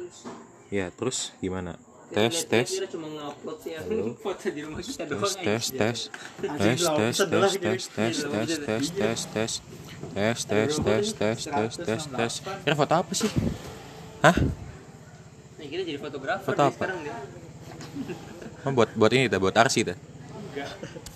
Ya, terus gimana? Kita Tes. lihat dia cuma ngupload ya foto di rumah kita doang. Tes. Kira foto apa sih? Hah? Nih kita jadi fotografer Foto nih apa? sekarang deh. Buat ini buat Arsi dah. Enggak.